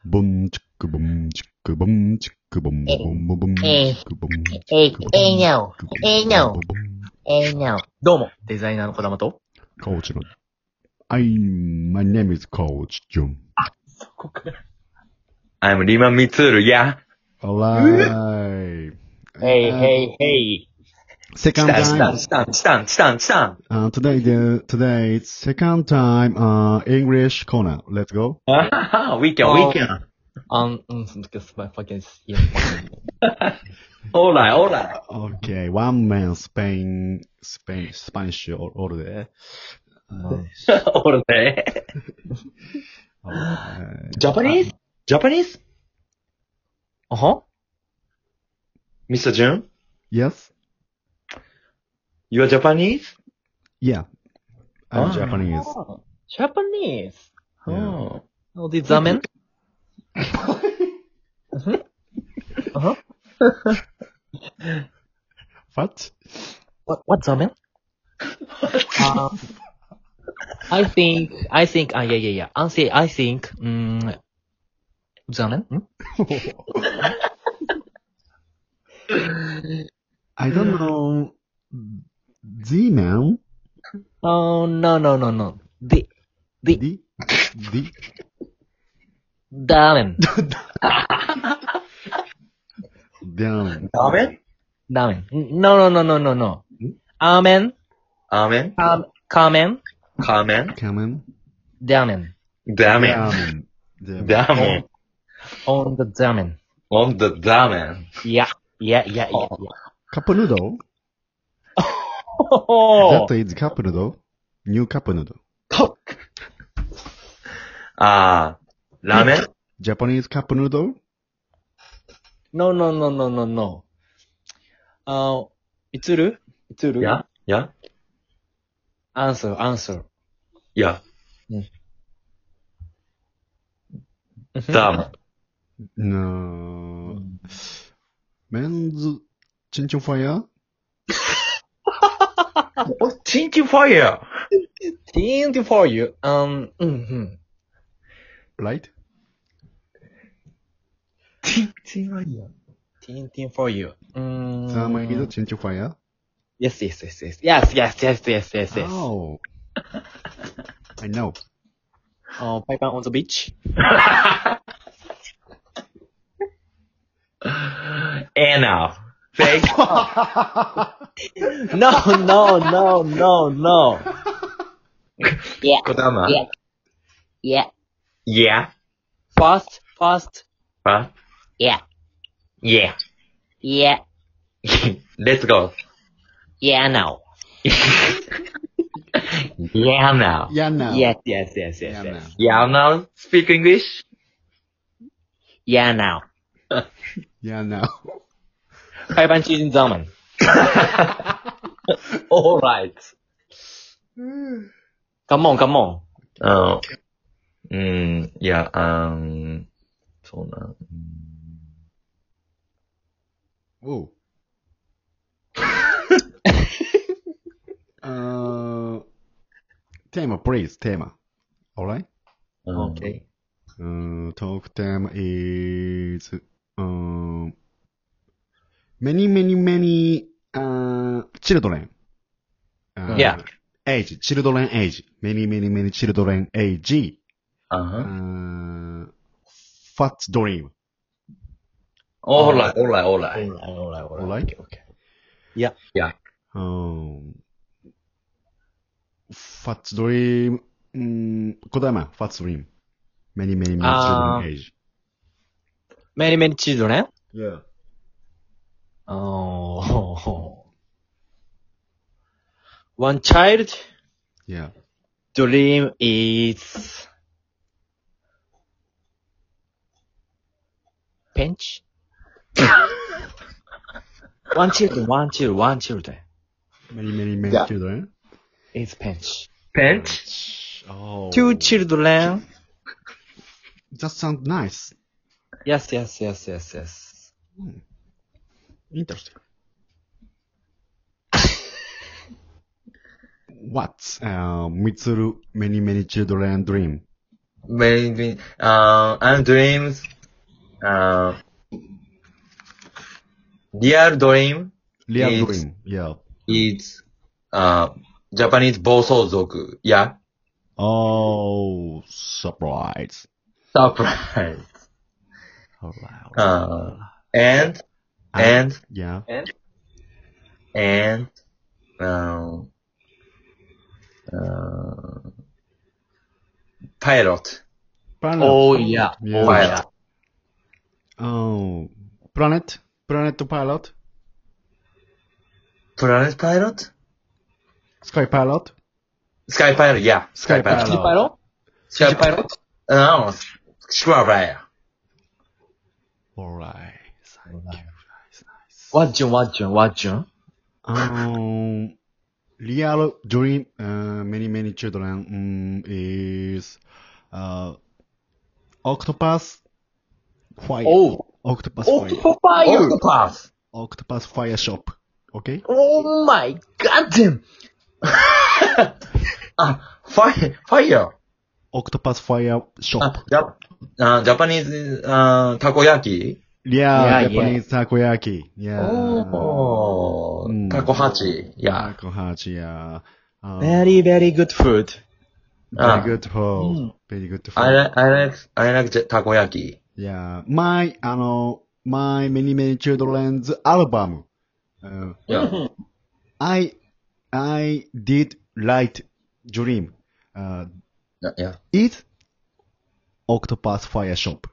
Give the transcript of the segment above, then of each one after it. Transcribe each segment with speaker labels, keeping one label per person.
Speaker 1: Boom, chicka, boom, chicka, boom, chicka, boom, boom, boom, boom,
Speaker 2: Hey,
Speaker 1: chicka, boom,
Speaker 2: hey,
Speaker 1: chicka, boom,
Speaker 2: hey, no,
Speaker 1: chicka, boom,
Speaker 2: hey, no,
Speaker 1: boom, boom.
Speaker 2: hey, no.
Speaker 3: どうも、デザイナーの小玉と。
Speaker 1: コーチの。my name is Coach Jun.
Speaker 4: I'm Rima Mitsuru, yeah.
Speaker 1: Alright.
Speaker 3: Hey, hey, hey.
Speaker 1: Second time.
Speaker 4: Stan.
Speaker 1: Today it's second time, English corner. Let's go.
Speaker 4: We can.
Speaker 3: Fucking,
Speaker 4: Alright.
Speaker 1: Okay, one man Spanish all day.
Speaker 4: All day.
Speaker 1: Alright.
Speaker 4: Japanese? Mr. Jun?
Speaker 1: Yes?
Speaker 4: You are Japanese?
Speaker 1: Yeah. I'm
Speaker 4: Ah.
Speaker 1: Japanese.
Speaker 3: Japanese.
Speaker 1: Yeah.
Speaker 3: Oh, the ramen?
Speaker 1: What?
Speaker 3: What's ramen? I think, I think, ramen?
Speaker 1: I don't know. Z-Man?
Speaker 3: Oh, no. The ramen.
Speaker 1: Damn.
Speaker 4: Ramen?
Speaker 3: Ramen. No. Amen.
Speaker 4: Amen?
Speaker 3: Kamen.
Speaker 4: Kamen?
Speaker 1: Kamen?
Speaker 3: Ramen.
Speaker 4: Damen. Damen.
Speaker 3: On the ramen.
Speaker 4: On the damen.
Speaker 3: Yeah.
Speaker 1: Cup noodle?
Speaker 3: Oh.
Speaker 1: That is cup noodle. New cup noodle.
Speaker 4: Ramen?
Speaker 1: Japanese cup noodle?
Speaker 3: No. Itsuru?
Speaker 4: Yeah?
Speaker 3: Answer.
Speaker 4: Yeah.
Speaker 3: Mm.
Speaker 4: Damen.
Speaker 1: No. Men's Chin Chin Fire?
Speaker 4: Chinky fire.
Speaker 3: Teen for you.
Speaker 1: Right?
Speaker 4: Chinky fire.
Speaker 3: Teen for you.
Speaker 1: Sama is Chin Chin Fire?
Speaker 3: Yes.
Speaker 1: Oh. I know.
Speaker 3: Piper on the beach.
Speaker 4: Anna. Fake.
Speaker 3: No.
Speaker 2: Yeah,
Speaker 4: Kodama.
Speaker 2: yeah,
Speaker 4: Yeah.
Speaker 3: Fast.
Speaker 4: Huh?
Speaker 2: yeah,
Speaker 4: Yeah.
Speaker 2: yeah,
Speaker 4: Let's go.
Speaker 2: yeah, no.
Speaker 4: Yeah now.
Speaker 1: Yeah, now.
Speaker 3: Yes.
Speaker 1: Yeah, now.
Speaker 4: Yeah now. Speak English.
Speaker 2: Yeah, now.
Speaker 1: Yeah, now.
Speaker 3: 5番チーズザーマン。
Speaker 4: Alright.
Speaker 3: Come on.
Speaker 4: Yeah, そうな。
Speaker 1: Whoa. Tema, please. Tema. Alright?
Speaker 3: Okay.
Speaker 1: Talk theme is many children.
Speaker 3: Yeah.
Speaker 1: Age, children age. Many children age. Fat dream.
Speaker 4: Alright.
Speaker 3: Alright. Okay. Yeah.
Speaker 1: Fat dream. Kodama, fat dream. Many children age.
Speaker 3: Many children?
Speaker 1: Yeah.
Speaker 3: Oh. One child
Speaker 1: Yeah.
Speaker 3: dream is pinch. One children.
Speaker 1: Many
Speaker 4: Yeah.
Speaker 1: children.
Speaker 3: Is pinch.
Speaker 4: Pinch?
Speaker 1: Oh.
Speaker 3: Two children.
Speaker 1: That sounds nice.
Speaker 3: Yes.
Speaker 1: Interesting. What's Mitsuru many children dream?
Speaker 4: maybe, and dreams, real dream
Speaker 1: Real
Speaker 4: It's-
Speaker 1: dream. Yeah.
Speaker 4: is, Japanese 暴走族。Yeah.
Speaker 1: Oh, surprise.
Speaker 4: Surprise.
Speaker 1: Alright.
Speaker 4: And,
Speaker 1: Yeah.
Speaker 4: and, pilot.
Speaker 1: Planet.
Speaker 3: Oh, yeah.
Speaker 1: Yeah.
Speaker 3: Oh, yeah.
Speaker 1: Oh, planet? Planet pilot?
Speaker 4: Planet pilot?
Speaker 1: Sky pilot?
Speaker 4: Sky pilot, yeah.
Speaker 1: Sky pilot.
Speaker 3: City pilot?
Speaker 4: Sky pilot? No, square pilot.
Speaker 1: Alright. Thank you. Nice.
Speaker 3: What Jun?
Speaker 1: Real dream, many children, is, octopus fire.
Speaker 3: Oh,
Speaker 1: Octopus fire.
Speaker 3: fire!
Speaker 4: Octopath.
Speaker 1: Octopus fire shop. Okay?
Speaker 3: Oh my god damn!
Speaker 4: Fire.
Speaker 1: Octopus fire shop.
Speaker 4: Japanese, takoyaki?
Speaker 1: Yeah,
Speaker 3: Yeah,
Speaker 1: Japanese takoyaki. Yeah.
Speaker 4: Oh,
Speaker 1: Mm.
Speaker 4: takohachi. Yeah.
Speaker 1: Takohachi, yeah.
Speaker 3: Very, very good food.
Speaker 1: Very good food. Very good food.
Speaker 4: I like takoyaki.
Speaker 1: Yeah. My many children's album.
Speaker 4: Yeah.
Speaker 1: I did write dream.
Speaker 4: Yeah.
Speaker 1: It's Octopus Fire Shop.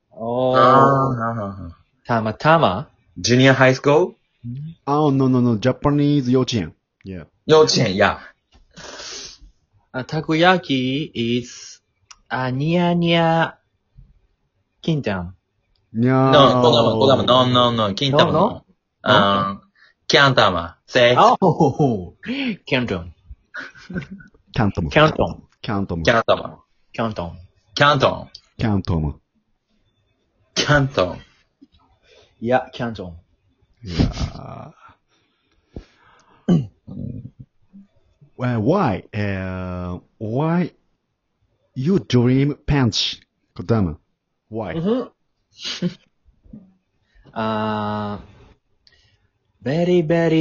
Speaker 3: Oh, Tama.
Speaker 4: Junior high school?
Speaker 1: Oh, no. Japanese 幼稚園. Yeah.
Speaker 4: 幼稚園, yeah.
Speaker 3: Takoyaki is near Kintan.
Speaker 1: No.
Speaker 4: No, Kodama, no, Kintama. Kyantama. Say,
Speaker 3: Oh, Canton.
Speaker 1: Canton.
Speaker 3: Canton.
Speaker 1: Canton.
Speaker 4: Kyantama.
Speaker 3: Canton.
Speaker 4: Canton.
Speaker 1: Canton.
Speaker 4: Canton.
Speaker 3: Yeah, Canton.
Speaker 1: Yeah. Well, why? Why you dream punch, Kodama? Why?
Speaker 3: Very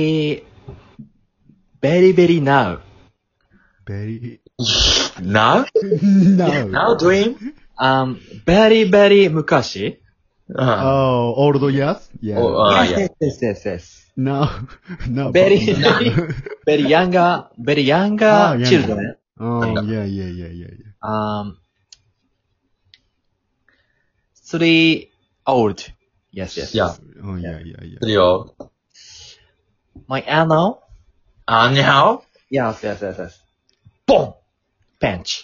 Speaker 3: now.
Speaker 1: Very
Speaker 4: Now?
Speaker 1: no.
Speaker 4: Now dream?
Speaker 3: Very mukashi.
Speaker 1: Oh, old years? Yeah.
Speaker 4: Oh, yeah.
Speaker 3: Yes.
Speaker 1: No.
Speaker 3: Very younger
Speaker 1: younger.
Speaker 3: children.
Speaker 1: Oh, yeah.
Speaker 3: 3 old. Yes.
Speaker 4: Yeah.
Speaker 1: Oh, yeah.
Speaker 4: するよ。
Speaker 3: My anno.
Speaker 4: Now?
Speaker 3: Yes. Boom! Bench.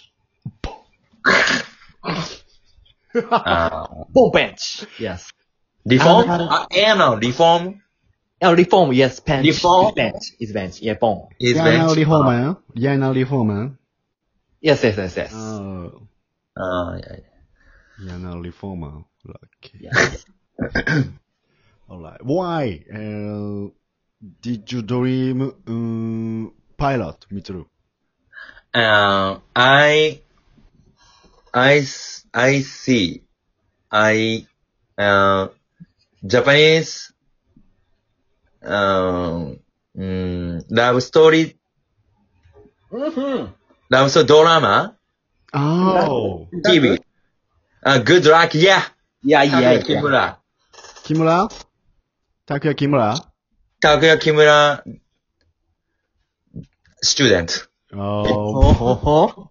Speaker 3: Boom bench. Yes.
Speaker 4: Reform?
Speaker 3: Anno.
Speaker 4: Reform?
Speaker 3: Oh, reform. Yes, bench.
Speaker 4: Reform?
Speaker 3: Is bench. Yeah, boom.
Speaker 4: Is
Speaker 1: Yeah, now
Speaker 4: bench?
Speaker 1: reformer. Yeah, now reformer.
Speaker 3: Yes.
Speaker 1: Oh.
Speaker 4: Yeah.
Speaker 1: Yeah, now reformer. Lucky.
Speaker 3: Yes.
Speaker 1: Alright. Why? Did you dream pilot, Mitsuru?
Speaker 4: I see. Japanese, love story, love story drama,
Speaker 1: Oh.
Speaker 4: TV. Good luck, yeah.
Speaker 3: Yeah.
Speaker 4: Kimura.
Speaker 1: Kimura? Takuya Kimura?
Speaker 4: Takuya Kimura, student.
Speaker 1: Oh.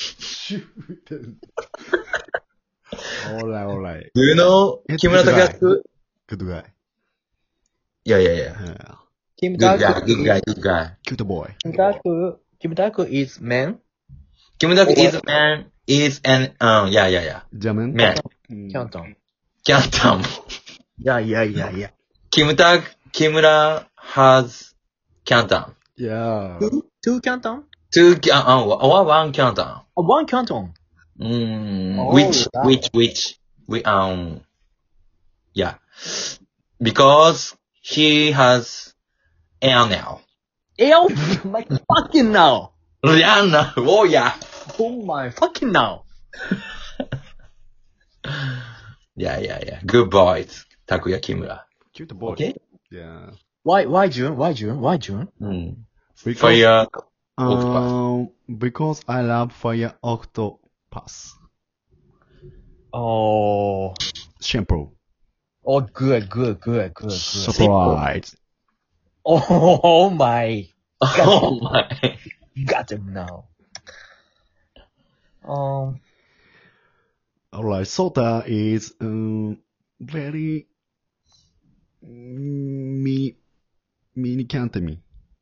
Speaker 1: Alright.
Speaker 4: Do you know
Speaker 1: It's
Speaker 4: Kimura
Speaker 1: good guy.
Speaker 4: Takayasu?
Speaker 1: Good guy.
Speaker 4: Yeah.
Speaker 1: Yeah.
Speaker 3: Kim
Speaker 4: Good guy.
Speaker 1: Cute boy.
Speaker 3: Kimitaku is man.
Speaker 4: Kimura is man, is an, yeah.
Speaker 1: German?
Speaker 4: Man.
Speaker 3: Canton.
Speaker 4: Canton.
Speaker 3: Yeah.
Speaker 4: Kimura has Canton.
Speaker 1: Yeah.
Speaker 3: Two Canton?
Speaker 4: One Canton.
Speaker 3: One Canton.
Speaker 4: Which, yeah. Because he has air now.
Speaker 3: My fucking now.
Speaker 4: Rihanna, oh yeah.
Speaker 3: Oh my fucking now.
Speaker 4: Yeah. Good boys. たくやきむら。
Speaker 1: Cute boy.
Speaker 3: Okay.
Speaker 1: Yeah.
Speaker 3: Why June? Why June? Why June?
Speaker 4: うん。
Speaker 1: Because,
Speaker 4: Fire.
Speaker 1: because I love Fire Octopus.
Speaker 3: Oh.
Speaker 1: Simple.
Speaker 3: Oh, good.
Speaker 1: Surprise.
Speaker 3: Oh my.
Speaker 4: Oh my.
Speaker 3: Got him now.
Speaker 1: Alright, Sota is very mini Cantami.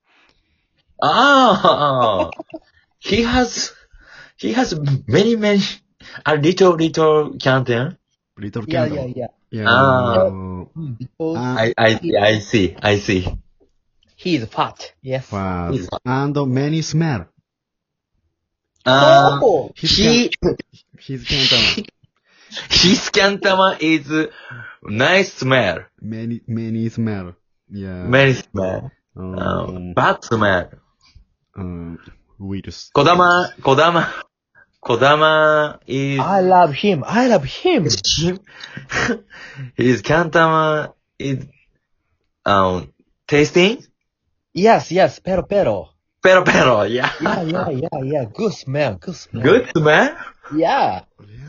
Speaker 4: Ah, he has many, a little canton.
Speaker 1: Little
Speaker 3: Yeah.
Speaker 1: Canton. Yeah.
Speaker 3: Because
Speaker 4: I see.
Speaker 3: he is fat. Yes.
Speaker 1: Fast. And many smell.
Speaker 3: Oh.
Speaker 1: His Cantama.
Speaker 4: His cantama is nice smell.
Speaker 1: Many smell. Yeah.
Speaker 4: Many smell. Bad smell.
Speaker 1: Virus.
Speaker 4: Kodama is,
Speaker 3: I love him.
Speaker 4: his cantama is, tasting?
Speaker 3: Yes. Pero.
Speaker 4: Pero, yeah.
Speaker 3: Yeah. Good smell.
Speaker 4: Good smell?
Speaker 3: Yeah.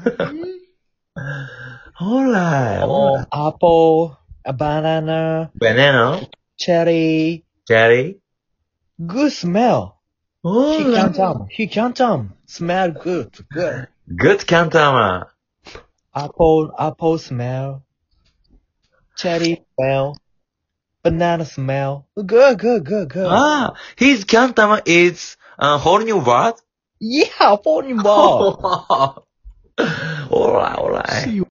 Speaker 4: Alright.
Speaker 3: Oh, apple, a banana,
Speaker 4: Banana,
Speaker 3: cherry.
Speaker 4: cherry.
Speaker 3: Good smell. He can't smell good.
Speaker 4: Good cantama.
Speaker 3: Apple smell. Cherry smell. Banana smell. Good.
Speaker 4: Ah, his cantama is a whole new word?
Speaker 3: Yeah, phone ball.
Speaker 4: Alright.
Speaker 1: See you.